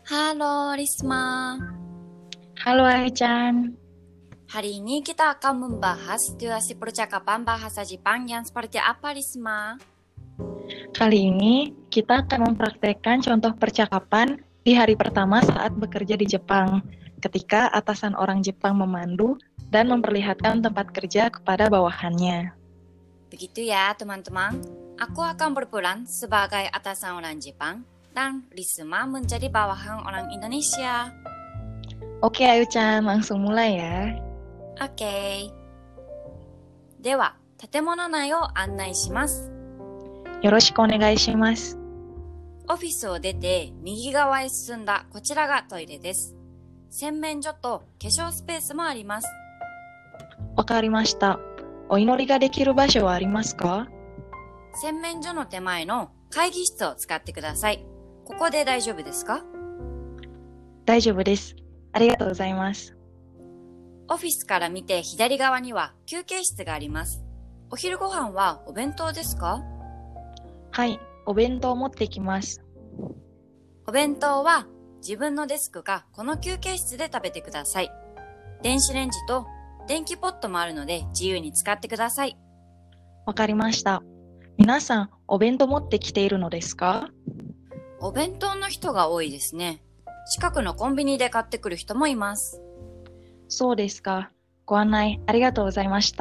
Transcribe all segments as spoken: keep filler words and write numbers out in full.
Halo Risma, Halo Ai-chan, hari ini kita akan membahas situasi percakapan bahasa Jepang yang seperti apa Risma? kali ini kita akan mempraktekkan contoh percakapan di hari pertama saat bekerja di Jepang, ketika atasan orang Jepang memandu dan memperlihatkan tempat kerja kepada bawahannya. Begitu ya teman-teman, aku akan berperan sebagai atasan orang Jepang dan Risma menjadi bawahan orang Indonesia. Oke Ayu-chan, langsung mulai ya. Oke. では、建物内を案内します。 よろしくお願いします。 オフィスを出て右側へ進んだこちらがトイレです。洗面所と化粧スペースもあります。 わかりました。お祈りができる場所はありますか？ 洗面所の手前の会議室を使ってください。ここで大丈夫ですか？ 大丈夫です。ありがとうございます。 オフィスから見て左側には休憩室があります。お昼ご飯はお弁当ですか？ はい、お弁当を持ってきます。 お弁当は自分のデスクかこの休憩室で食べてください。電子レンジと電気ポットもあるので自由に使ってください。 わかりました。皆さん、お弁当持ってきているのですか？ お弁当の人が多いですね。近くのコンビニで買ってくる人もいます。 そうですか。ご案内ありがとうございました。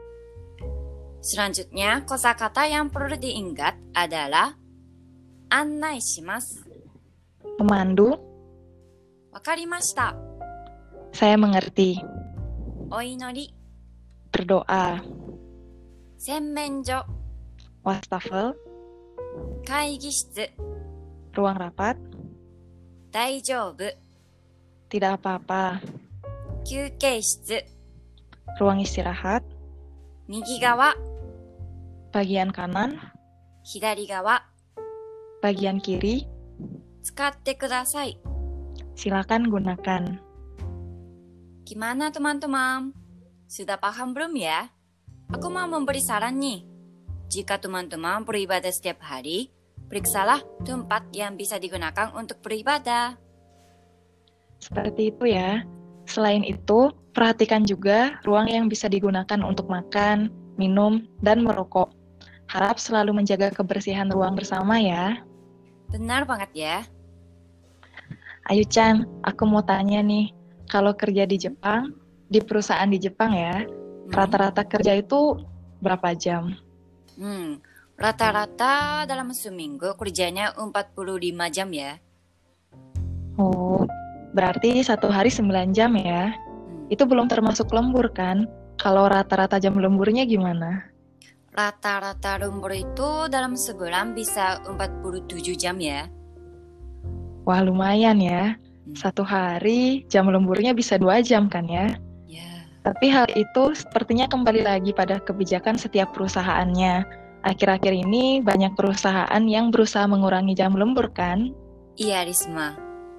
Selanjutnya, kosakata yang perlu diingat adalah annai shimasu. Memandu, わかりました。 saya mengerti. お祈り、 Berdoa, 洗面所、 wastafel, 会議室、 ruang rapat, 大丈夫、 tidak apa-apa, 休憩室、 ruang istirahat, 右側、 bagian kanan, 左側、 bagian kiri, 使ってください。 silakan gunakan. Gimana teman-teman? Sudah paham belum ya? Aku mau memberi saran nih. Jika teman-teman beribadah setiap hari, periksalah tempat yang bisa digunakan untuk beribadah. Seperti itu ya. Selain itu, perhatikan juga ruang yang bisa digunakan untuk makan, minum, dan merokok. Harap selalu menjaga kebersihan ruang bersama ya. Benar banget ya. Ayu-chan, aku mau tanya nih, kalau kerja di Jepang, di perusahaan di Jepang ya, Hmm. rata-rata kerja itu berapa jam? Hmm, rata-rata dalam seminggu kerjanya empat puluh lima jam ya. Oh, berarti satu hari sembilan jam ya. Hmm. Itu belum termasuk lembur kan? Kalau rata-rata jam lemburnya gimana? Rata-rata lembur itu dalam sebulan bisa empat puluh tujuh jam ya. Wah, lumayan ya. Hmm. Satu hari jam lemburnya bisa dua jam kan ya? Ya. Tapi hal itu sepertinya kembali lagi pada kebijakan setiap perusahaannya. Akhir-akhir ini banyak perusahaan yang berusaha mengurangi jam lembur kan? Iya Risma.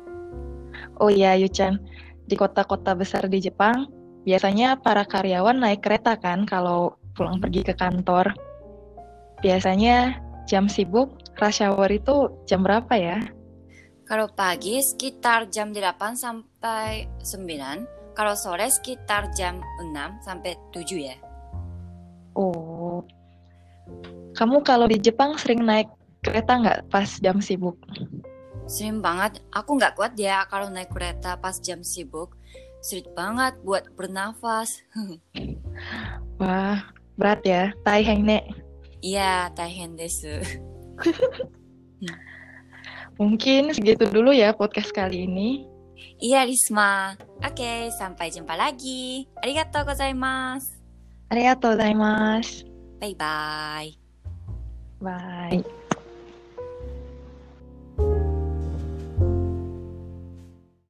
Oh iya Yuchan, di kota-kota besar di Jepang, biasanya para karyawan naik kereta kan kalau pulang pergi ke kantor. Biasanya jam sibuk, rush hour itu jam berapa ya? Kalau pagi sekitar jam delapan sampai sembilan, kalau sore sekitar jam enam sampai tujuh ya. Oh, kamu kalau di Jepang sering naik kereta nggak pas jam sibuk? Sering banget, aku nggak kuat ya kalau naik kereta pas jam sibuk. Sulit banget buat bernafas. Wah, berat ya, taiheng ne. Iya, taihen desu. Mungkin segitu dulu ya podcast kali ini. Iya, Risma. Oke, sampai jumpa lagi. Arigatou gozaimasu. Arigatou gozaimasu. Bye-bye. Bye.